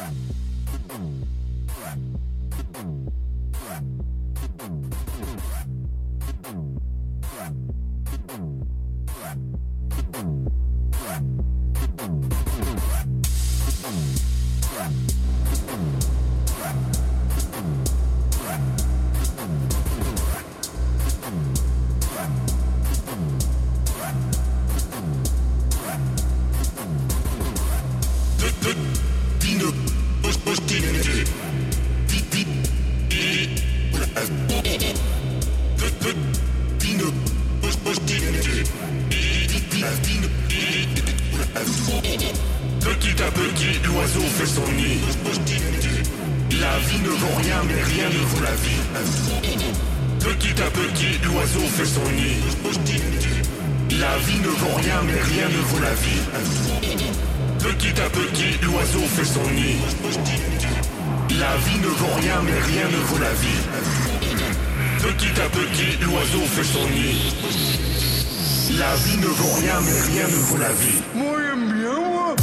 Petit à petit, l'oiseau fait son nid. La vie ne vaut rien, mais rien ne vaut la vie. Petit à petit, l'oiseau fait son nid. La vie ne vaut rien, mais rien ne vaut la vie. Petit à petit, l'oiseau fait son nid. La vie ne vaut rien, mais rien ne vaut la vie. Petit à petit, l'oiseau fait son nid. La vie ne vaut rien, mais rien ne vaut la vie. Moi, j'aime bien, moi.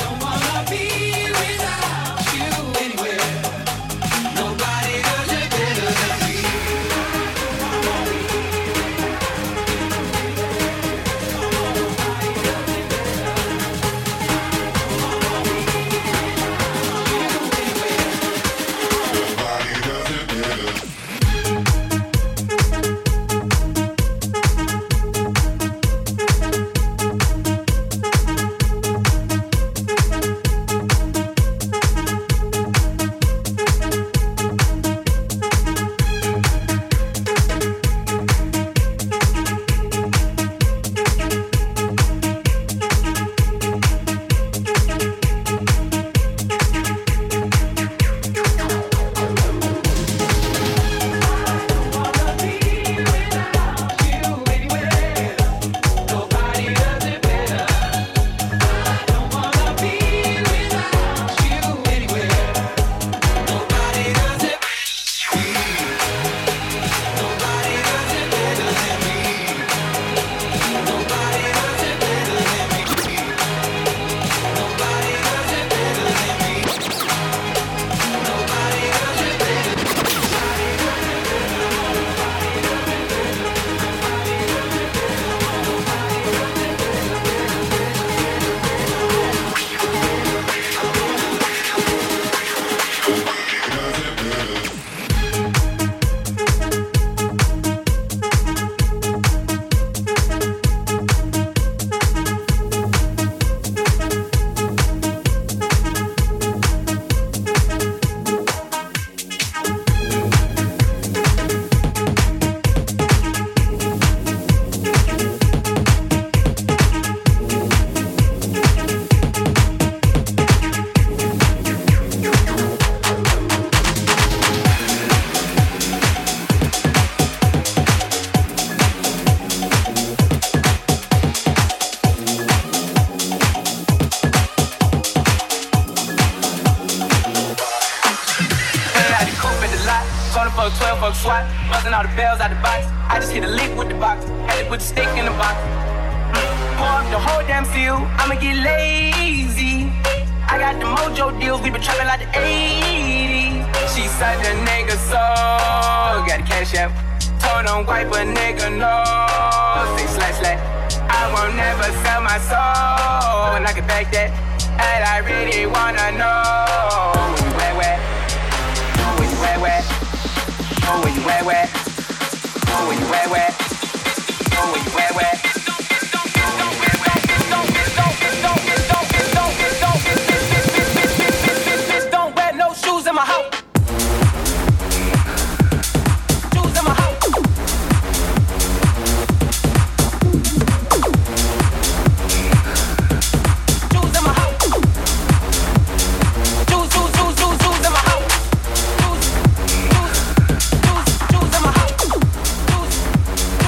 Nobody does it better. I just hit a lick with the box, had to put the stick in the box. Pour up the whole damn field, I'ma get lazy. I got the mojo deals, we been trapping like the 80s. She such a nigga soul, got a cash app. Told don't wipe a nigga no. Say slash slash. I won't never sell my soul, and I can back that. And I really wanna know where you where where, where you where where, where you where where, where you where where, where you where where. Don't wear no shoes in my house. Shoes in my house. Shoes in my house. Shoes in my house. Shoes in my house. Shoes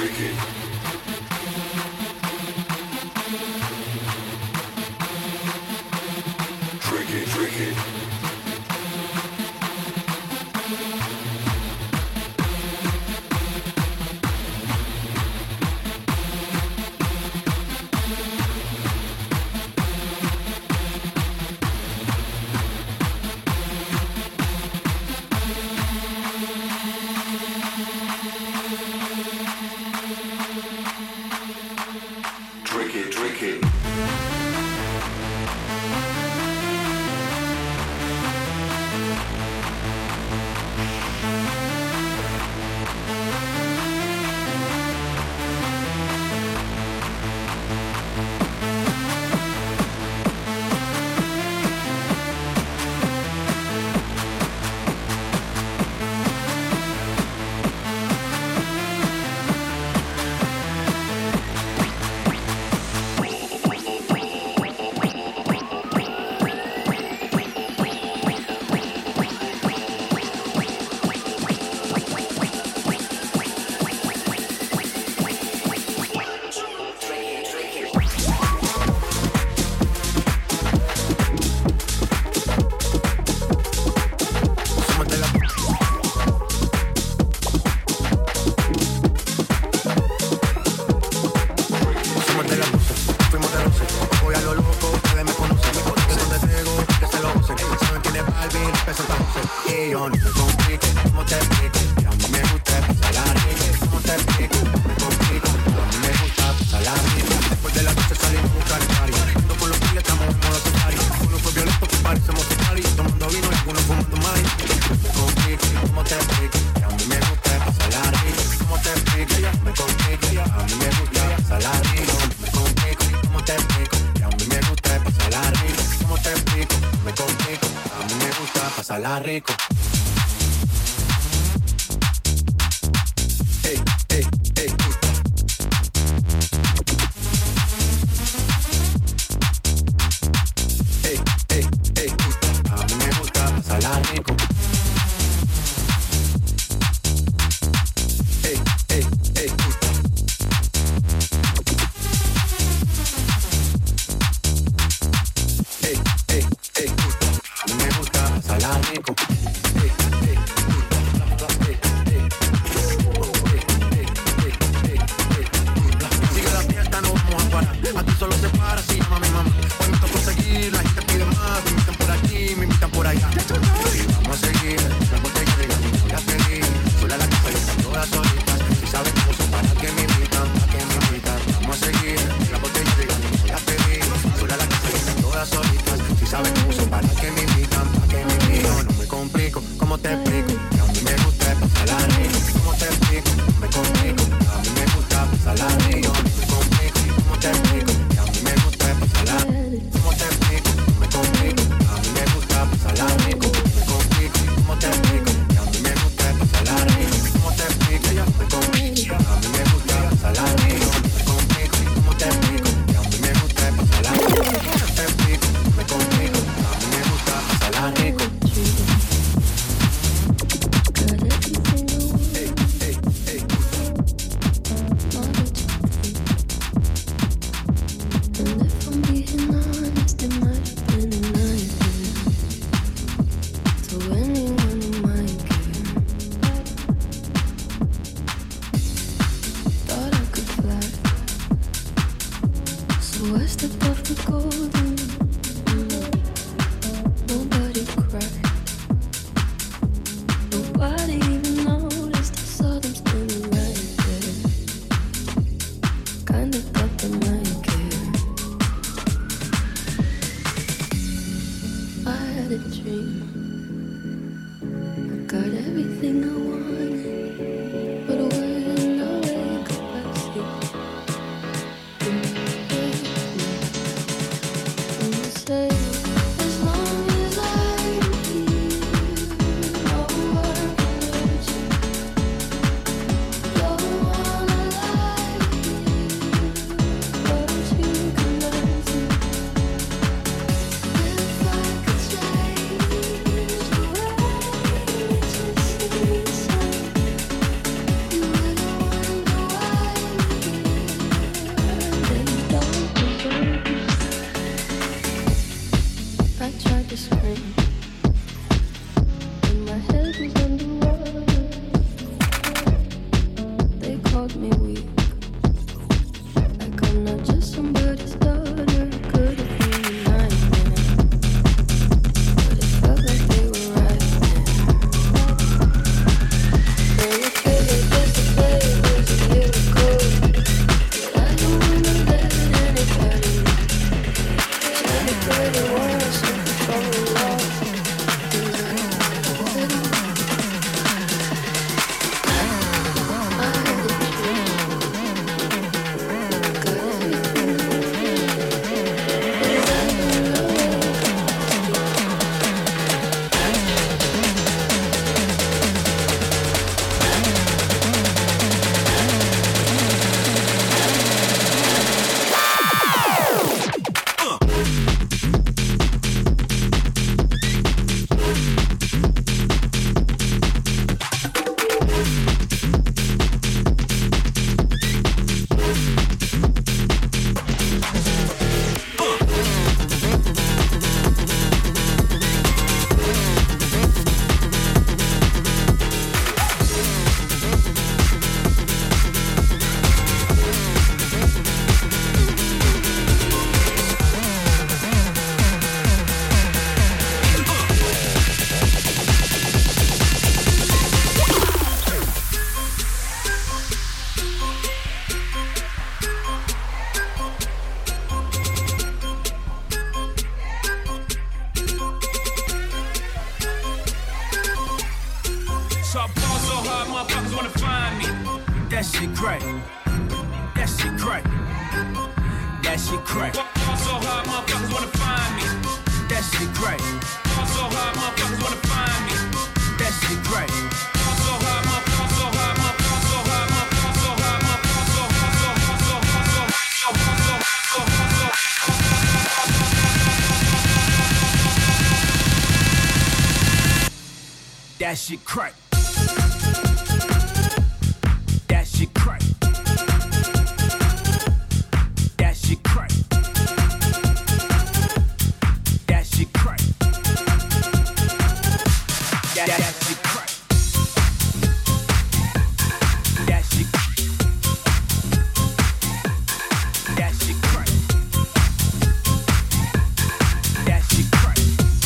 Rico. motherfuckers wanna find me. That shit crack. That shit crack. That shit crack. Fall so hard, motherfuckers wanna find me. That shit crack. Fall so hard, motherfuckers wanna find me. That shit crack. Fall so hard, motherfuckers so hard, motherfuckers so hard, motherfuckers so hard, motherfuckers so hard, so hard, so hard, so hard, so hard, so hard. That shit crack. That shit crack. That shit crack. That shit crack. That shit crack. That shit. That shit crack. That shit crack.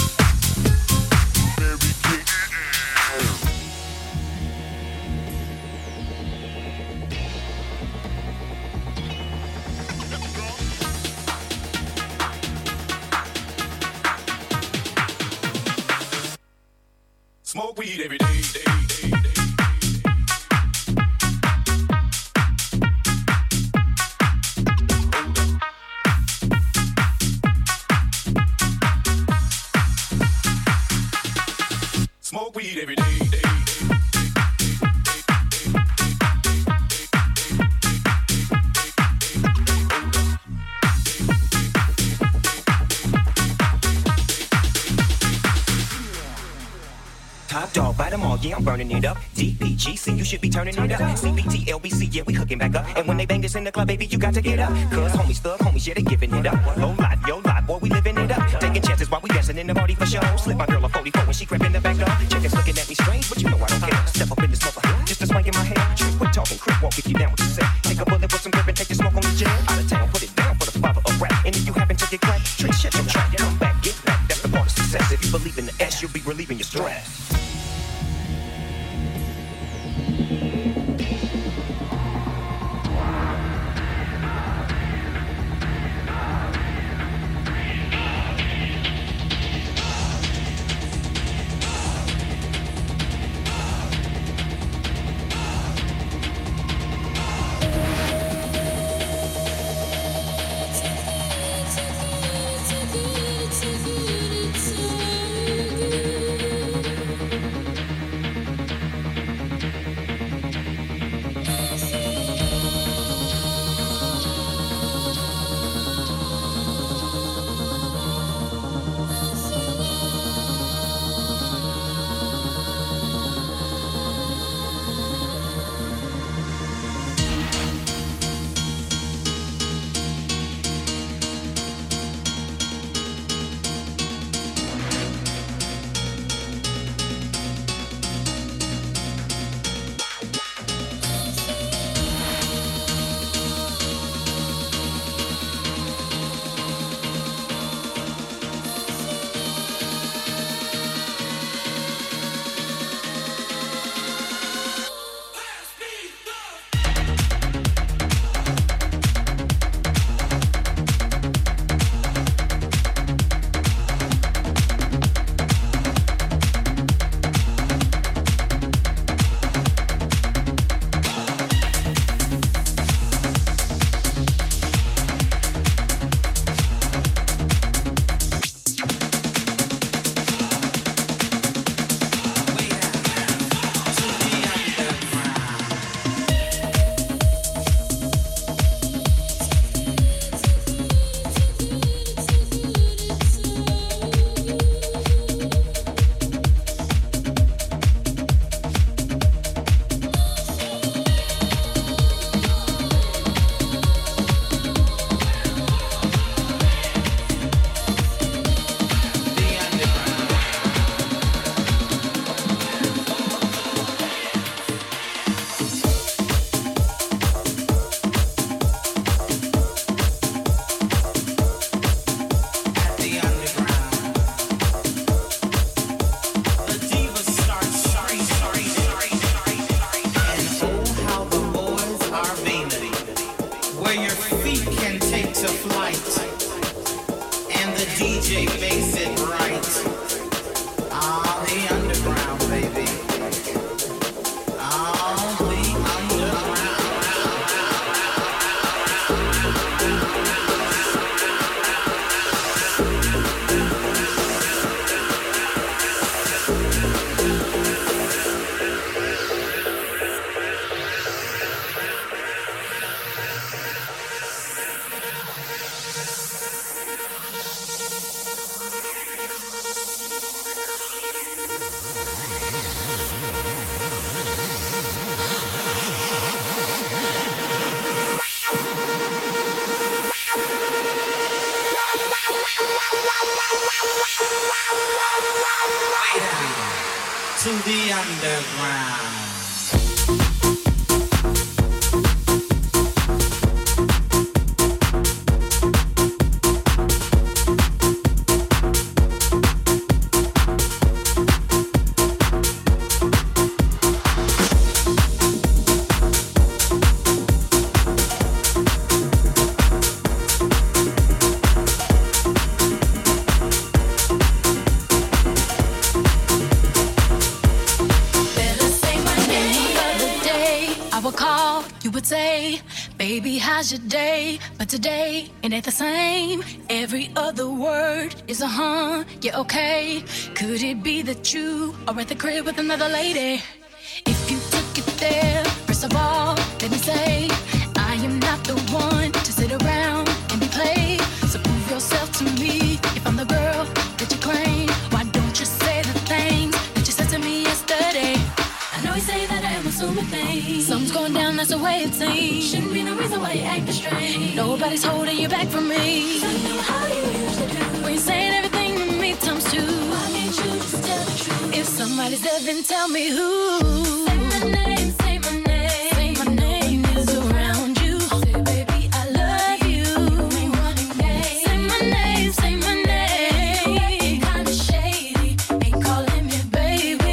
Smoke weed every day. Smoke weed every day. Top dog, bite them all, yeah, I'm burning it up. DPGC, you should be turning it up. CBT, LBC, yeah, we hooking back up. And when they bang this in the club, baby, you got to get up. Cause homies, thug homies, yeah, they giving it up. Low life, yo life, boy, we living it up. Taking chances while we dancing in the party for show. Slip my girl a 44 when she crept in the back door. Chickens looking at me strange, but you know I don't care. Step up in the smoker, just a swank in my hair. Trick, quit talking, crip walk if you down what you say. Take a bullet with some grip and take the smoke on the jet. Out of town, put it down for the father of rap. And if you happen to get cracked, trick, shut your trap. Come back, get back, that's the part of success. If you believe in the S, you'll be relieving your stress. To the underground. Baby, how's your day? But today, it ain't the same. Every other word is a yeah, okay. Could it be that you are at the crib with another lady? If you took it there, first of all, let me say, I am not the one to sit around and be played. So prove yourself to me. If I'm the girl that you claim, why don't you say the things that you said to me yesterday? I know you say that I am assuming things. Something's going down, that's the way it seems. Shouldn't be no reason why you acting strange. Nobody's holding you back from me. Tell me how you usually do. When you're saying everything to me times two. Why can't you just tell the truth? If somebody's there, then tell me who. Say my name, say my name. Say my name is around you. Say baby, I love you. You ain't running game. Say my name, say my name. Kinda shady, ain't calling me baby.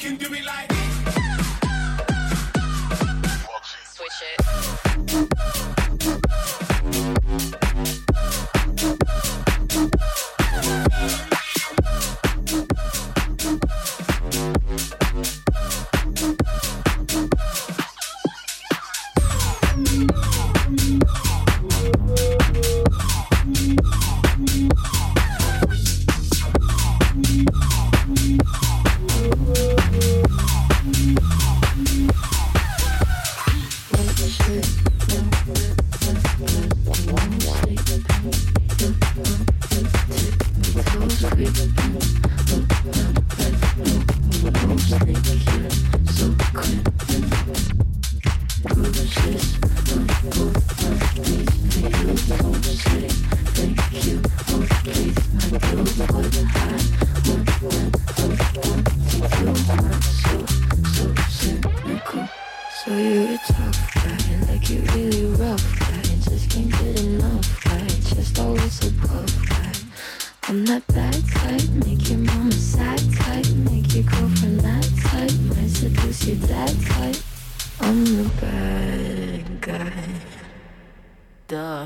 can do it like Switch it. So you're a tough guy, like you really rough guy. Just can't get enough guy, just always above guy. I'm that bad type, make your mama sad type, make your girlfriend that type, might seduce your dad type. I'm the bad guy. Duh.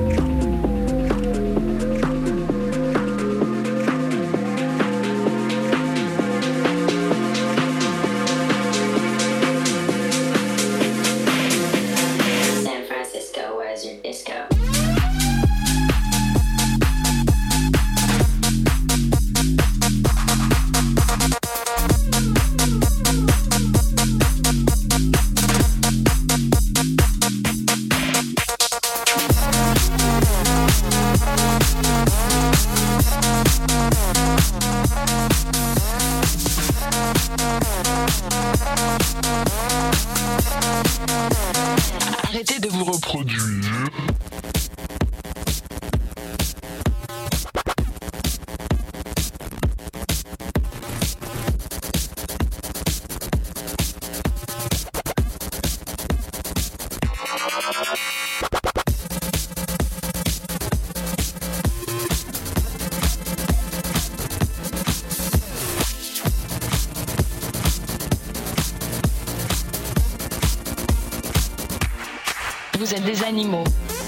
Arrêtez de vous reproduire. Vous êtes des animaux.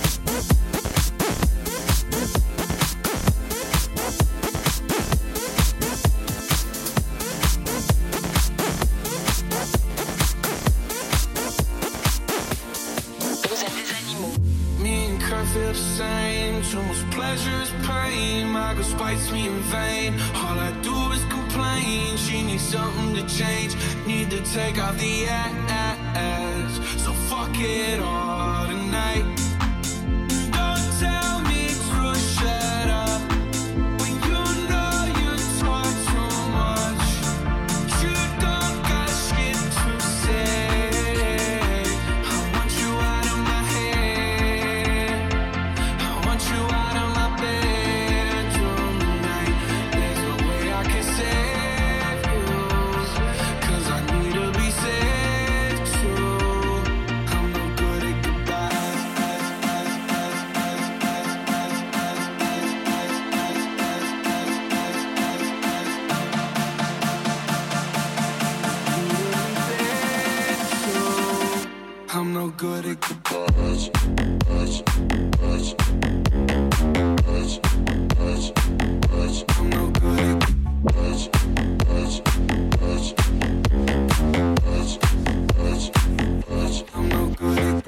Vous êtes des animaux. Me and Kurt feel the same. Too much pleasure is pain. My girl spites me in vain. All I do is complain. She needs something to change. Need to take off the ass. So fuck it all tonight. Don't tell me to shut up when you know you talk too much. You don't got shit to say. I want you out of my head. I want you out of my bedroom tonight. There's no way I can save you, 'cause I need to be saved too. I'm no good at goodbyes. I'm no good at goodbyes. I'm no good at goodbyes. I'm no good at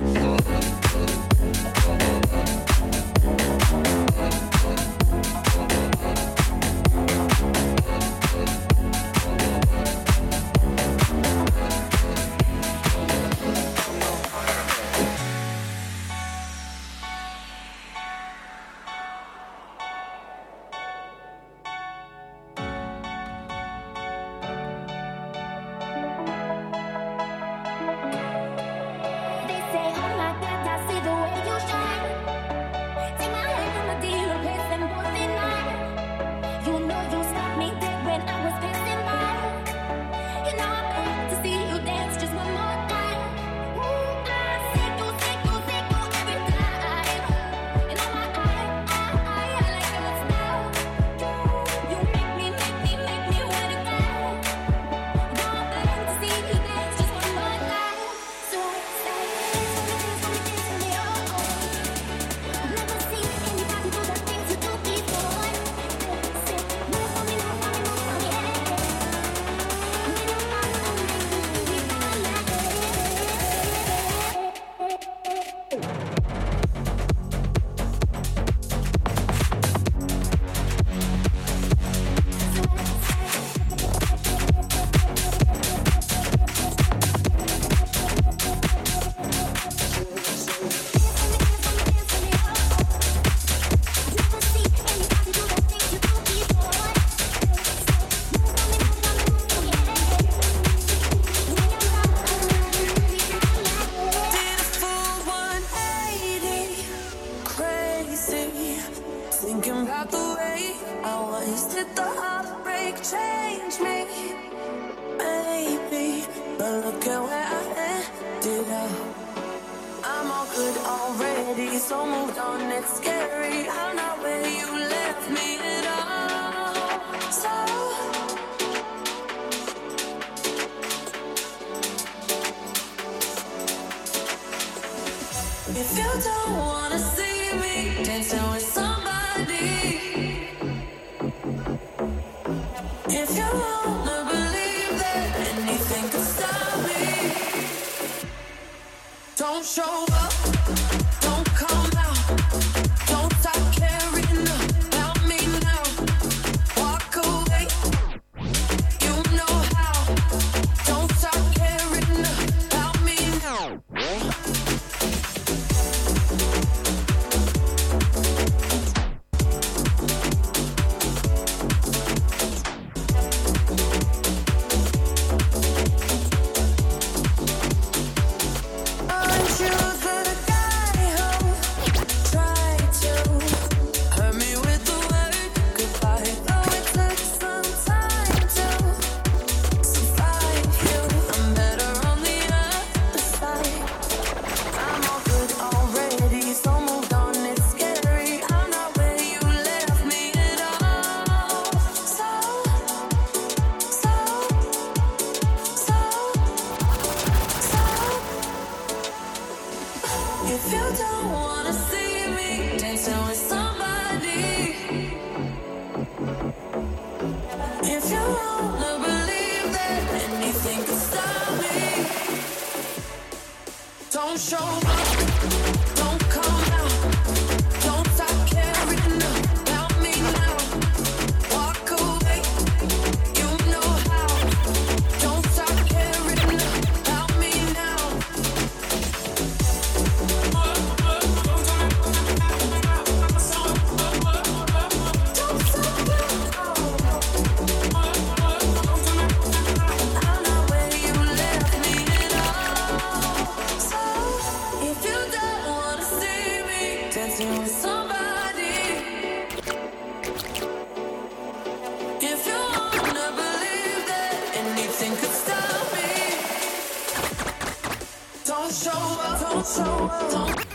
but look at where I ended up. I'm all good already, so moved on, it's scary. I'm not where you left me at all. So if you don't wanna see me dancing with somebody, if you wanna believe that anything could stop me, don't show up, don't come out, don't stop caring about me now. Walk away, you know how. Don't stop caring about me now. If you don't wanna see me dancing with somebody, if you wanna believe that anything can stop me, don't show up, don't come out, don't stop caring about me now. Walk away, you know how. Don't stop caring about me now. Dancing with somebody, if you wanna believe that anything could stop me, don't show up, don't show up, don't